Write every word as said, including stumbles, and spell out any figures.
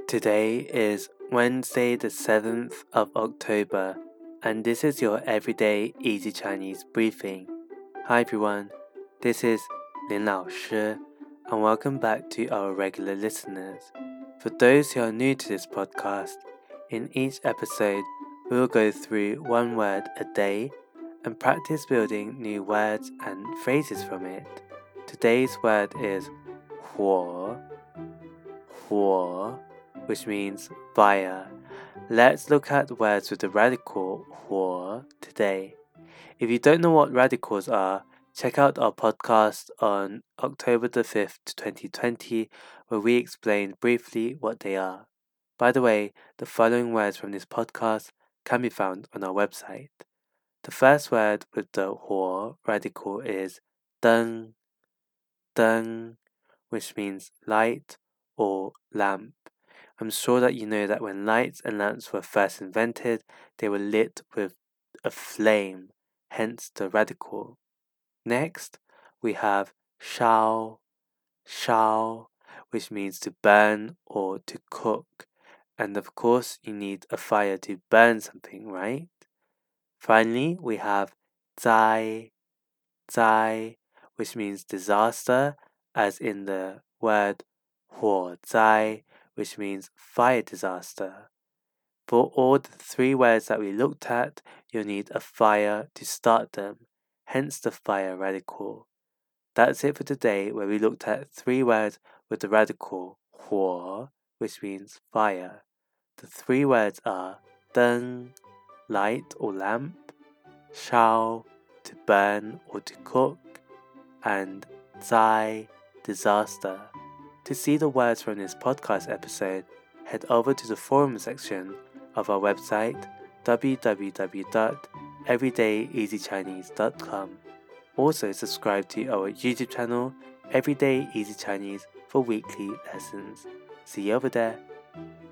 Today is Wednesday, the seventh of October, and this is your everyday easy Chinese briefing. Hi everyone, this is Lin Lao Shi, and welcome back to our regular listeners. For those who are new to this podcast, in each episode we will go through one word a day and practice building new words and phrases from it. Today's word is 火, 火, which means fire. Let's look at words with the radical 火 today. If you don't know what radicals are, check out our podcast on October the fifth, twenty twenty, where we explained briefly what they are. By the way, the following words from this podcast can be found on our website. The first word with the 火 radical is 灯, 灯, which means light or lamp. I'm sure that you know that when lights and lamps were first invented, they were lit with a flame, hence the radical. Next, we have 烧, 烧, which means to burn or to cook. And of course, you need a fire to burn something, right? Finally, we have 灾, 灾, which means disaster, as in the word 火灾, which means fire disaster. For all the three words that we looked at, you'll need a fire to start them, hence the fire radical. That's it for today, where we looked at three words with the radical 火, which means fire. The three words are 灯, light or lamp, 烧, to burn or to cook, and 灾, disaster. To see the words from this podcast episode, head over to the forum section of our website w w w dot everyday easy chinese dot com. Also subscribe to our YouTube channel, Everyday Easy Chinese, for weekly lessons. See you over there.